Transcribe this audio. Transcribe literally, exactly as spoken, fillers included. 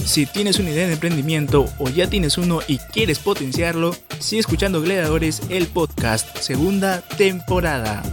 Si tienes una idea de emprendimiento o ya tienes uno y quieres potenciarlo, sigue escuchando Gladiadores, el podcast, segunda temporada.